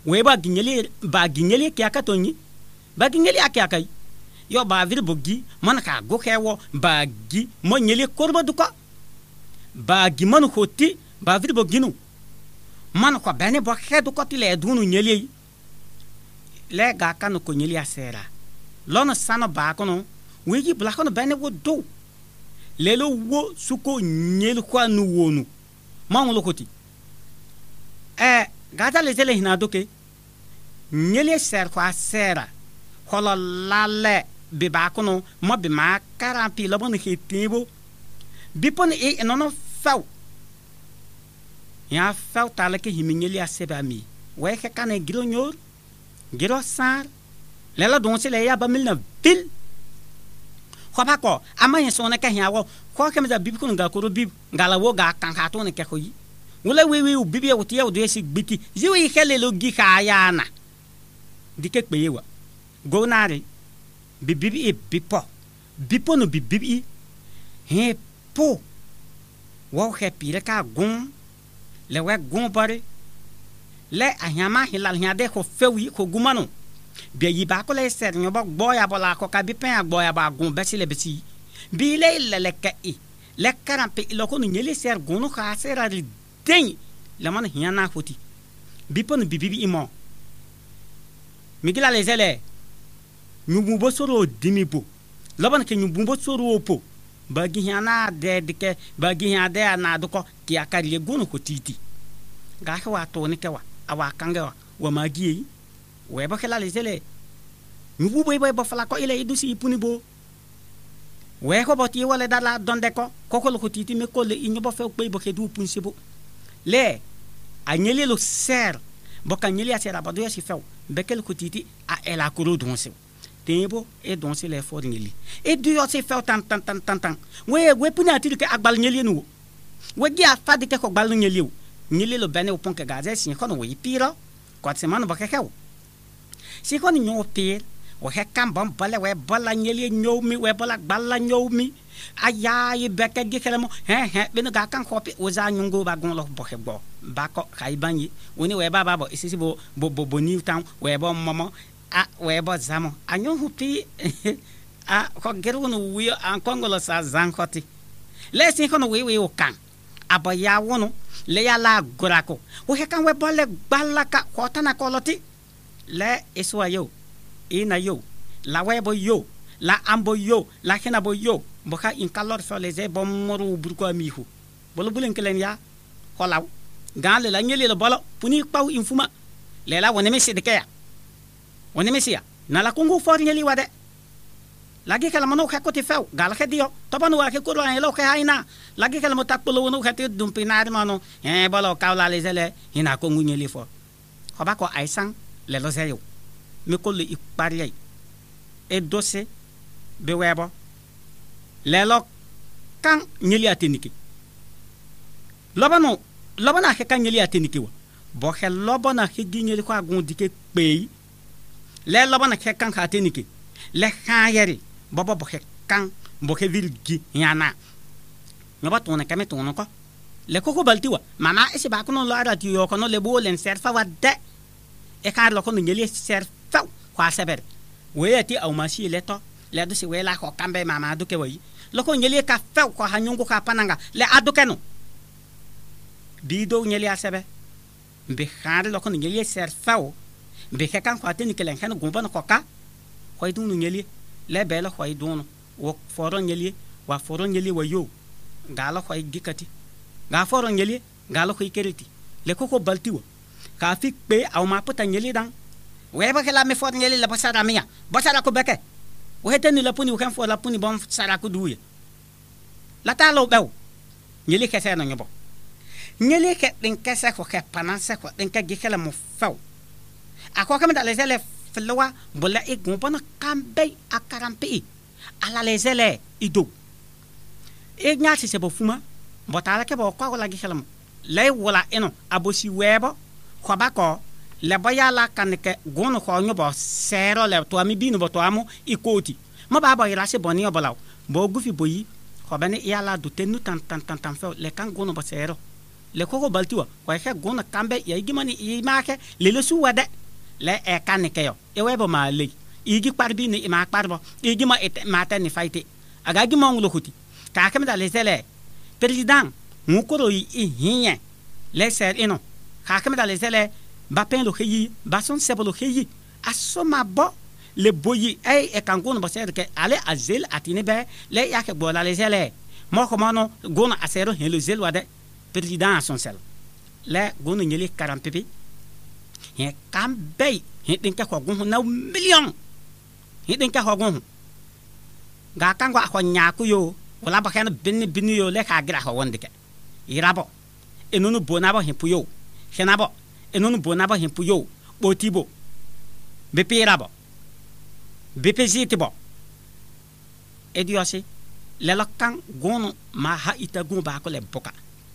we ba ginyeli kya ka tonyi ba ginyeli akya yo ba vir bogi man ka go kewo ba gi mo nyeli korba duka ba gi man hoti ba vir boginu man ko bene bo hedu ko ti le dunu nyeli le ga kan ko nyeli asera lona sana ba kono we gi bla kono bene wo do lelo wo suko nyeli kwa nu wonu man lo koti gata le zele hina doke nyeli ser kwa sera hola lale be ba kono mo be ma karampi lo bon hetibo bipon e nono faw ya faw tala ke himinyeli aseba mi we ke kan giro nyor giro sar lela don se le ya ba milna vil khoba ko ama yin sona ka hiawo ko ke meza bib kun ga ko bib ngala wo ga kan ha to ne ke ko yi wala we bibi o tie o de si gbiti ziwi hele lo gi ka ya na dike peyewa go nare bibi e bipo no bibi he po wo he pire ka gon le we gon bare le ahama hilal hiade ko fewi ko gumano be yi ba ko le ser nyo ba boya bola ko ka bi pen agboya ba gon besi le besi bi le ka i le karampe lo ko nyele ser gon no ka sera ri den le man hiana foti bipo no bibi imo migila les ele nyumbo soro dimibo loban ke nyumbo soro po bagi hiana de ke bagi hiade na doko ti akari gono ko titi ga wa to ni ke wa awa kanga wa magi we ba kala les ele nyumbo boy ba fala ko ile idusi ipuni bo we ko boti wala dala donde ko ko titi me ko le inyo fe ko bo ke du punsi bo le anyele lo ser bo kanyele asera ba do ya si fe bekel ko titi a ela ko do donse tembo e donse le for ngeli e du yo se fe tan we puna ati ke agbal ngeli nu we gi afa de ke ko gbal ngeli lo bene o pon ke gaze sin ko no we piro ko se man ba ke ke si ko ni nyo pir o he kam bom bale we bala ngeli nyo mi we bala gbala nyo mi aya ye beke gi kele mo he beno ga kan ko pi o za nyungo ba gon lo bo he gbo ba ko kai banyi woni we ba bo isisi bo new town we bo momo we bo zamo anyo hupi ko geru no wi an kongolo sa zankoti le sin ko no we o kan abaya wono le ya la gorako o he kan we bole balaka ko tana ko loti le iswa yo ina yo la we bo yo la ambo yo la hena bo yo boka in kalor so les e bom moru burko amihu bolo bulen kelen ya holaw gale la nyele le bolo puni paw infuma le la woni mesi de kaya woni mesi ya na la kongo for nyeli wade lagi kala mano ka koti few gal ke dio to banu wa ke ko ran lo ke haina lagi kala mo takpolo wono ka te dum pinade mano bolo kawla les ele ina ko nyeli fo hoba ko aisan le lo zeyo me ko le ipari e dossier be webo lelo kan nyeli ateniki lobana ke kan nyeli ateniki wa bo he lobana ke ginyeli ko agun dike pei le lobana ke kan ateniki le khayeri bobo bo he kan bo ke virgi yana ngoba tona kame tona ko le koko baltiwa mama ese ba kono lo ara ti yo kono le bo len serfa wadde e kar lo kono nyeli serfa kwa saber weyati au masi leto le do si wela ko kambe mama do ke wayi loko nyeli ka few ko hanyungu ka pananga le adukeno bido nyeli asebe mbe khare loko nyeli ser few mbe ke kan ko ateni kelen kan gumba no koka ko idun nyeli le bela ko idun wo foro nyeli wa foro nyeli wa yo gala ko gikati ga foro nyeli gala ko ikeriti le koko baltiwa ka fik pe au ma pota nyeli dan we ba kala me foro nyeli la basara miya basara ko beke o heteni la puni o kan fo la puni bom sara ko duye la talo bew nyeli ke se no nyobo nyeli ke din ke se ko ke pananse ko din ke gikela mo faw ako kam da lesele flowa bola e gompana kambe akarampe ala lesele ido e nyati se bo fuma botala ke bo ko la gikela mo lay wala eno abosi webo ko bako le boyala kanike gono ko nyobo sero le to ami binu bo to amu ikoti mo baba ira se boni obalaw bo gufi boyi ko bene yala do tenu tan fe le kan gono bo sero le koko baltiwa kwa ke gona kambe ya igimani imake le lesu wade le e kanike yo e webo ma le igi parbi ni ima parbo igima et mata ni faite aga gima ngulo kuti ka kamda le zele président ngukoro yi hinya le ser ino ka kamda le zele ba pen lo xeyi ba son sebolo xeyi asoma bo le boyi ay e kangono ba ser ke ale azel atine be le yake bola le zele mo ko mano gona asero hen le zel wade président son sel le gona nyeli 40 pepe he kambe he den ka ko gon na million he den ka ko gon ga kango ko nyaku yo wala ba kana bin yo le ka gra ko wonde ke irabo enunu bonabo he puyo henabo enunu bonabo he puyo botibo bepirabo bepezitibo ediosi le lokkan gono ma ha ita gon ba ko le boka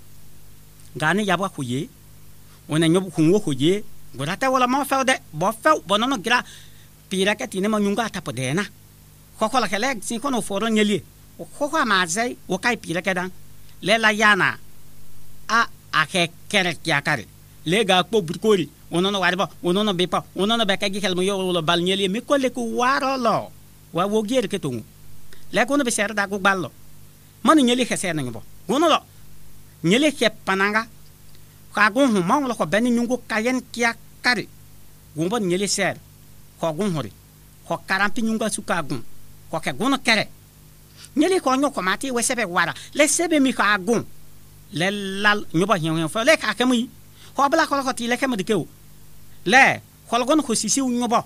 gani yabo xuye wona nyob xunwo xuye gorata wala ma fawde bo faw bonono gra pira ka tine ma nyunga tapo dena ko la kele sin kono foro nyeli ko ma zai o kai pira ka dan le la yana a ake kere kya kare le ga ko burkori wonono warba wonono bepa wonono be ka gi kelmo yo lo bal nyeli mi ko le ko waro lo wa wo gier ke tungu le ko no be ser da go ballo man nyeli khese na ngbo wono lo nyeli ke pananga ka gon hu ma lo ko ben nyungu kayen kya kare gumbo nyeli ser ko gon hori ko karampi nyunga suka gon ko ke gon kere nyeli ko nyo ko mati we sebe wara le sebe mi ka gon le lal nyoba hen fo le ka kemi ko bla ko ti le kemi de kew le ko gon ko sisi nyoba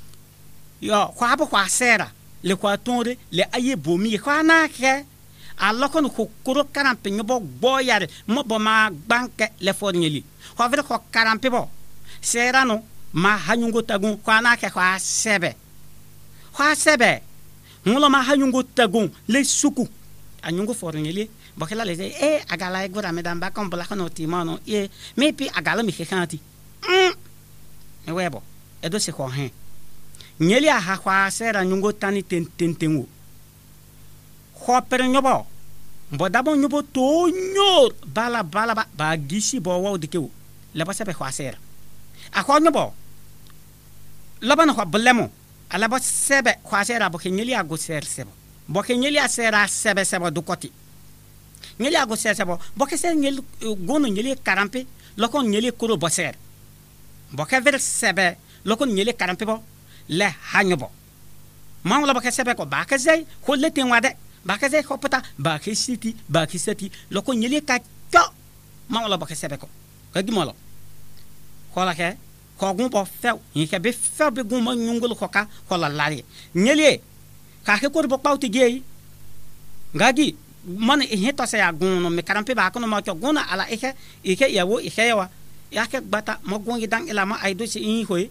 yo ko abo ko asera le ko tonre le aye bomi ko na ke aloko no kokoro karampe nyobo boyare mo bo ma banke le for nyeli ko vere ko karampe bo sera no ma hanyungo tagun ko na ke ko sebe ngulo ma hanyungo tagun le suku anyungo for nyeli bo kala le agala e gora me damba kom bla kono ti mano me pi agala mi khanti e webo e do se ko hen nyeli a ha kwa sera nyungo tani tentenwo ko per nyobo bo dabo nyobo to nyor bala ba gisi bo wo dikewo le ba sebe kwa sera a ko nyobo labana ko blemo ala ba sebe kwa sera bo nyeli a go ser sebo bo nyeli a sera sebe do koti nyeli a go ser sebo bo ke ser nyeli gono nyeli karampe lokon nyeli kuro bo ser bo ke ver sebe lokon nyeli karampe bo le hanyobo mangla ba ke sebe ko ba ke zai ko le tin wade ba ke zai ko pata ba ke siti lokon nyeli ka to mangla ba ke sebe ko ka gimolo ko la ke ko gun bo few yin ke be few be gun ma nyungul ko ka ko la lari nyeli ka ke ko bo pawti gei ngagi man e heto se ya gun no me karampe ba ko no ma ko gun ala ike yawo yawa ya ke bata mo gun gidan ila ma aido si yin hoye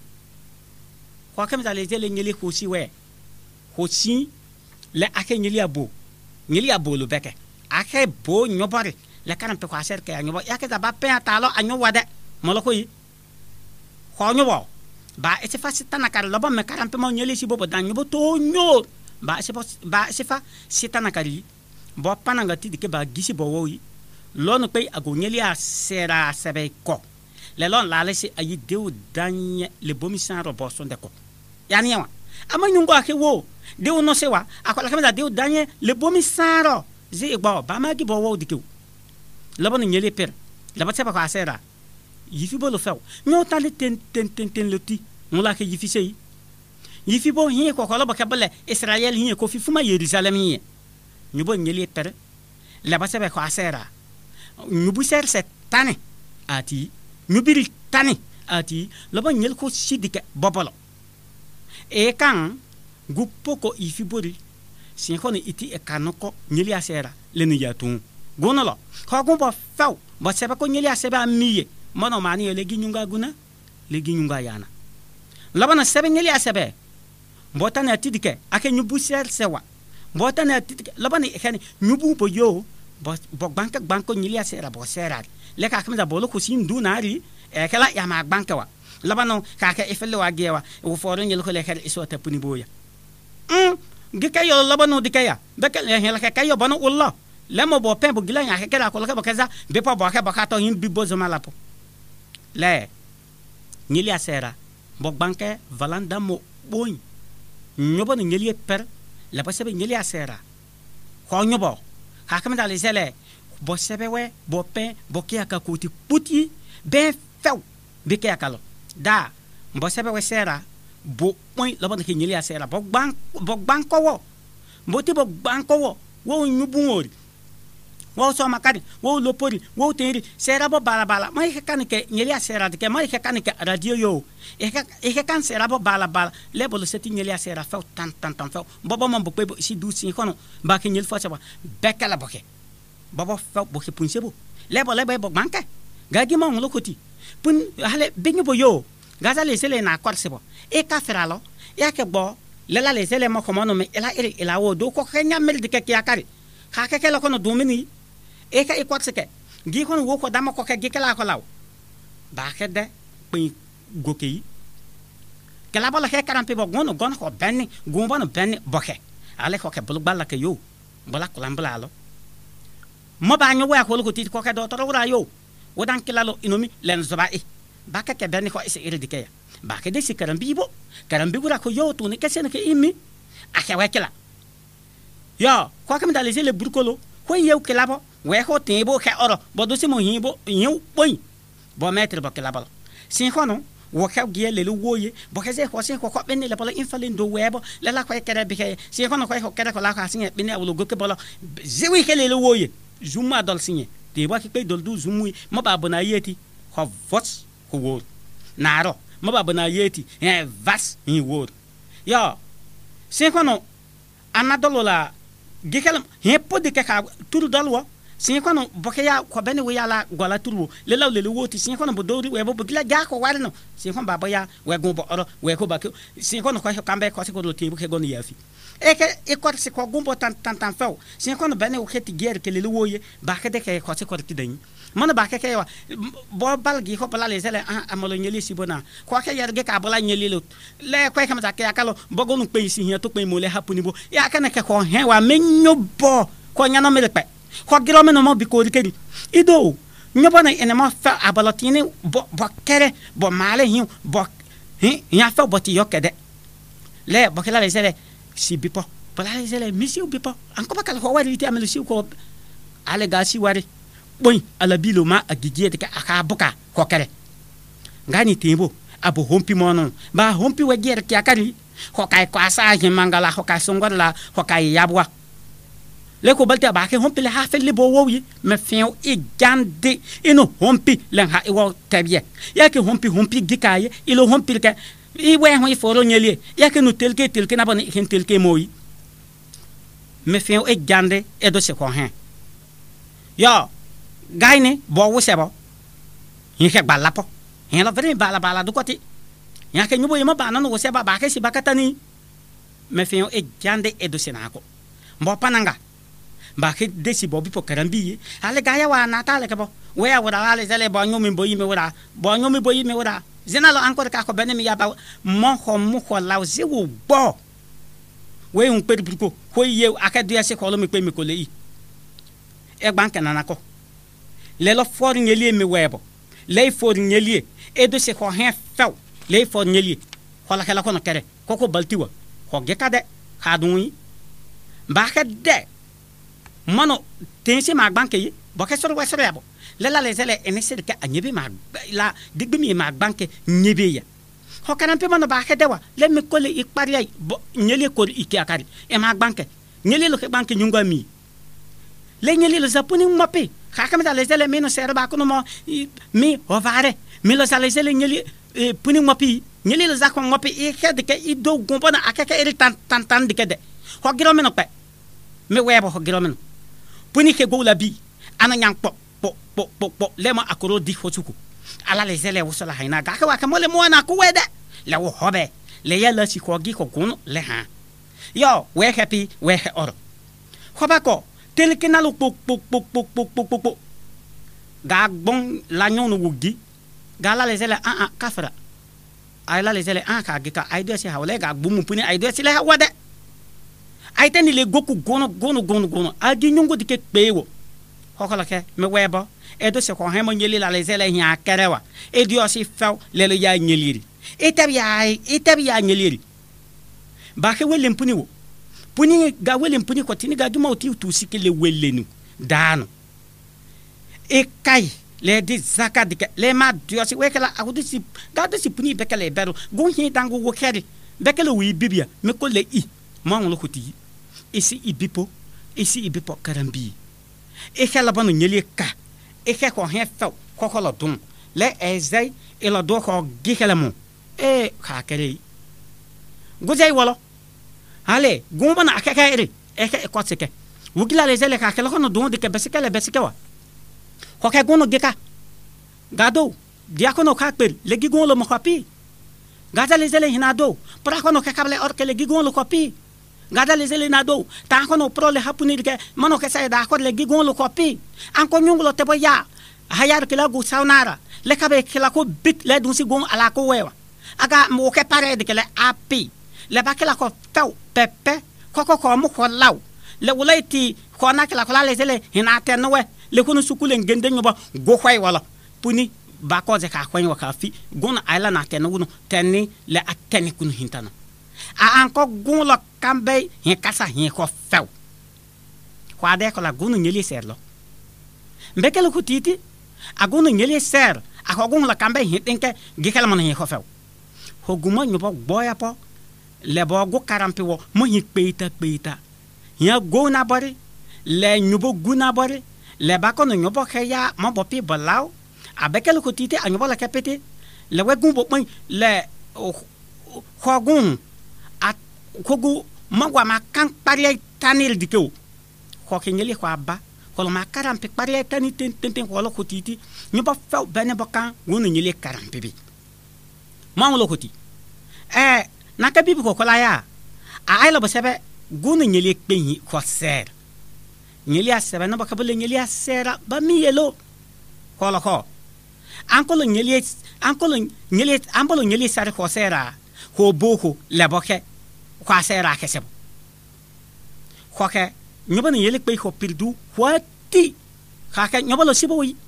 ko kam za le nyeli ko si we ko si le ake nyeli abo lo beke ake bo nyobare le karampe ko aser ke nyobo ya ke za ba pe atalo anyo wade mo lo ko yi ko nyobo ba e se fa sitana kar lobo me karampe mo nyeli si bobo dan nyobo to nyor ba se fa sitana kari bo pananga ti dike ba gisi bo woyi lo no pe ago nyeli a sera sebe ko le lon la le si ayi dewu danye le bomi san robo son de ko yani yawa ama nyungo ake wo dewu no sewa akola kameda dewu danye le bomi san ro zi igbo ba ma gi bo wo dike le bon nyeli per le ba seba ko asera yifi bo lo few nyo tali ten loti ngola ke yifi sey yifi bo hin ko lo ba kabale Israel hin ko fi fuma Jerusalem hin nyubo nyeli per le ba seba ko asera nyubu ser setane ati nyubiri tani ati loba nyel ko sidike bobolo e kan guppo ko ifibori sin ko ni iti e kanoko nyeli asera le ni yatun gonolo ko gumbo faw ba seba ko nyeli aseba miye mono mani le ginyunga guna le ginyunga yana loba na seba nyeli asebe mbotana tidike ake nyubu ser sewa mbotana tidike loba ni khani nyubu bo yo bo banko nyeli asera bo sera le ka kamza bolo ko sin dunari e kala ya ma banka wa labano ka ka ifele wa gewa wo foro nyel ko le kala iso ta puni boya gika yo labano dikaya beka le hela ka yo bano ulla le mo bo pen bo gila nya ke la ko ke bo keza be po bo ke bo ka to him bi bozo malapo le nyeli asera bo banke valanda mo boy nyobo ni nyeli per la pa sebe nyeli asera ko nyobo ha kam dale zele bo sebe we bo pen bo ke aka kuti puti be few be ke akalo da bo sebe we sera bo point la bon ke nyeli asera bo banko wo bo ti bo banko wo nyubungori wo so makari wo lopori wo tenri sera bo bala mai ke kan ke nyeli asera de ke mai ke kan ke radio yo e ke kan sera bo bala le bo seti nyeli asera fe tan fe bo mo bo pe si du si kono ba ke nyeli fo sa ba bekala bo ke bo fe bo ke punse bo le bo manke gagi mo ngolo koti pun hale binyo bo yo gaza le sele na kwar sebo e ka feralo ya ke bo le la le sele mo ko no me ela wo do ko kenya mel de ke yakari ha ke lo kono domini e ka e kwar seke gi kono wo ko dama ko ke gi kala ko law ba ke de pin gokei kala bala he karam pe bo gono ko benni gomba no benni boke ale ko ke bulu balla ke yo bala ko lambala lo mo ba nyo wa ko ti ko ke do to ra yo wodan kilalo inomi len zoba e ba ke benni ko ise iridike ba ke de si karambi gura ko yo to ne ke sen ke imi a ke wa kila yo ko kam dale le burkolo ko yew kilabo we ko tembo ke oro bo do si mo himbo yin boy bo metre bo kilabo sin kono wo ka giele lu woye bo ke se ko sin ko benni le bolo infalen do webo le la ko kere bi ke sin kono ko kere ko la ka sin benni awlo go ke bolo zewi ke le lu woye zuma dol sin te ba ke pe dol du zumu mo ba bona yeti ko vots ko wo naro mo ba bona yeti vas in wo yo sin kono anadolo la gikelam he podi ke ka turu dalwa sin kono boke ya ko bene we yala gola turu le law le woti sin kono bo dori we bo gila ja ko warno sin kono baba ya we go bo oro we ko ba sin kono ko kambe ko se ko do tibu ke gonu yafi e ko se ko gumbo tan few sin kono bene o kheti ger ke le woye ba ke de ke ko se ko ti dan mana ba ke wa bo balgi ko bala le zele amalo nyeli sibona ko ke yar ge ka bala nyeli lo le ko kam ta ke akalo bo gonu pe si hin to pe mo le hapuni bo ya kana ke ko hen wa menyo bo ko nyano me le pe ko giro me no mo bi ko rikeri ido nyobo na ene ma fa abalotini bo kere bo male hin bo ya fa bo ti yokede le bo ke la le zele si bipo bala le zele misi bipo anko ba kala ko wari ti amelo si ko ale ga si wari boy ala bilo ma agigie de aka buka ko kere ngani tembo abo hompi mono ba hompi we gere ki akari ko kai ko asa je mangala ko kai songorla ko kai yabwa le ko balte ba ke hompi le ha fel le bo wowi me fin e gande ino hompi le ha e wo tabie ya ke hompi gikaye ilo hompi ke i we ho i foro nyeli ya ke no telke na bani hen telke moyi me fin e gande e do se ko hen yo gaine bo wo sebo hin ke balapo hin la vere bala du koti ya ke nyubo yema bana no wo seba ba ke si bakatani me fin e gande e do senako mbo pananga ba ke desi bo bi po karambi ale gaya wa natale ke bo we ya wora ale zele bo nyomi bo yime wora zenalo encore ka ko benemi ya ba mo ko law zewo bo we un pe bruko ko ye akadu ya se ko lo me pe mi ko le yi e banka nanako le lo for nyeli me webo le for nyeli e do se ko hen few le for nyeli ko la kala ko no kere ko baltiwa ko gekade hadui ba ka de mano tensi ma banke yi bo ke soro wesoro yabo le la le zele ene se ke anyebe ma la digbe mi ma banke nyebe ya ko kana pe mano ba ka de wa le me ko le ikpari ay bo nyeli ko iki akari e ma banke nyeli lo ke banke nyunga mi le nyeli lo zapuni mope hakam da le zele meno sero ba kuno mo mi ovare mi lo sale zele nyeli puni mopi nyeli lo zakon mopi e kede ke i do gombo na akeke eri tan de kede ho giro meno pe me webo ho giro meno puni ke go la bi ana nyang po le ma akoro di hosuku ala le zele wo sala haina ga ka wa ka mo le mo na ku wede le wo hobe le ya la si ko gi ko kuno le ha yo we happy we oro hoba ko tel ke na lo pok ga bon la nyon wugi ga la le zele kafra ay la le zele ka gi ka ay do si hawle ga bu mu puni ay do si le hawade aitani le goku gono adi nyongo dike pewo hokola ke me webo edo se ko hemo nyeli la le zele nya kerewa edi osi few le ya nyeliri itabi ya nyeliri ba ke wele mpuni wo puni ga wele mpuni ko tini ga duma oti tu sikele welenu dano e kai le di zaka dike le ma diosi wekela akudi si ga do si puni bekele bero gon hin dango wo keri bekele wi bibia me ko le i mo ngolo kuti isi ibipo karambi e kala banu nyeli ka e ke ko hen fe ko ko lo dum le ezai e lo do ko gikela mo e ka kere gojai wolo ale gomba na akaka ere e ke ko seke wugila le zele ka kala ko no dum de ke besike wa ko ke gono gika gado dia ko no ka per le gigon lo mo kapi gada le zele hinado pra ko no ke kable or ke le gigon lo kapi gada le zele nado ta ko no pro le hapuni de mano ke sai da ko le gigon lo kapi an ko nyungulo te boya hayar ke la gu saunara le kabe ke la ko bit le dun si gon ala ko wewa aga mo ke pare de ke le api le ba ke la ko taw pepe ko mo ko law le wulaiti ko na ke la ko la le zele hinate no we le ko no sukule ngende nyoba go khwai wala puni ba ko ze ka khwai wa ka fi gon ala na te no tenni le ateni kun hintana a anko gon lo kambe hin kasa hin ko few kwa de ko la gon nyeli serlo mbekele ko titi a gon nyeli ser a ko gon la kambe hin tinke gikela man hin ko few ho guma nyoba boya po le bo go karampi wo mo hin peita ya go na bari le nyobo guna bari le ba ko no nyobo kaya mo bo pi balaw a bekele ko titi a nyobo la kapete le we gun bo mo le ko gun kogu magwa makan pariya tanil dikeu ko ke nyeli ko abba ko ma karampe pariya tani ten ko lo kotiti nyoba few bene bokan wono nyeli karampe bi ma lo koti naka bibi ko la ya a ay lo sebe gono nyeli kpenyi ko ser nyeli asebe no bakabule nyeli asera ba mi yelo ko lo ko ankolo nyeli ambolo nyeli sare ko sera ko boko le boke kwa sera kesebo khoke nyoba ni yele pe ko pirdu wati khaka nyoba lo sibo wi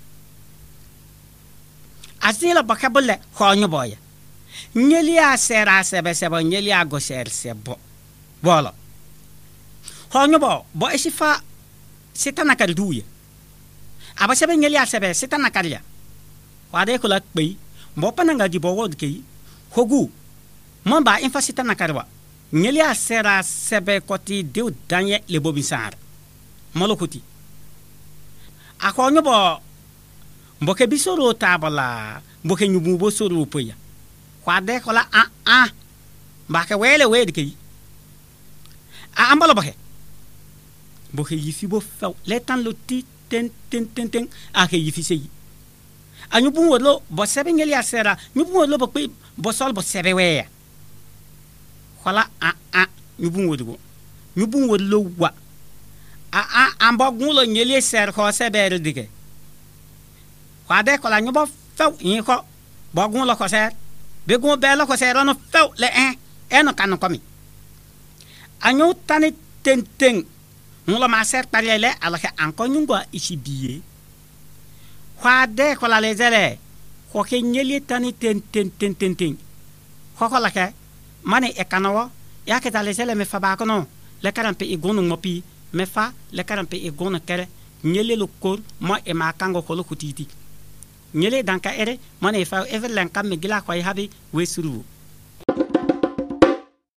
asila bakabule ko nyoba ya nyeli a sera sebo nyeli a go ser sebo bolo ho nyoba bo esifa setana kalduye aba sebe nyeli a sebe setana kalya wade ko la pe mo pananga di bo wod ke hogu mo ba infa setana karwa nyeli a sera sebe koti de danye le bobisar molokoti akonyo bo mboke bisoro tabala mboke nyubu bo soro poya kwade kola mbake wele wedi ke ambalo boke mboke yifi bo few letan lo ti ten ake yifi sey anyubu wolo bo sebe nyeli a sera nyubu wolo bo pe bo sol bo sebe we kola nyubu wolo wa ambo gulo nyeli ser ko sebere dige kwade kola nyubo few yin ko bo gulo ko ser be gun bela ko ser no few le no kan komi anyu tani ten mulo ma ser parele ala ke anko nyungo isi biye kwade kola le zele ko ke nyeli tani ten ko kola ke mane e kanawo ya ke tale zele me fa ba kono le karampe e gonu mopi me fa le karampe e gonu kere nyele lo kor mo e ma kango ko lo kutiti nyele danka ere mane fa everlen kam me gila ko habi we suru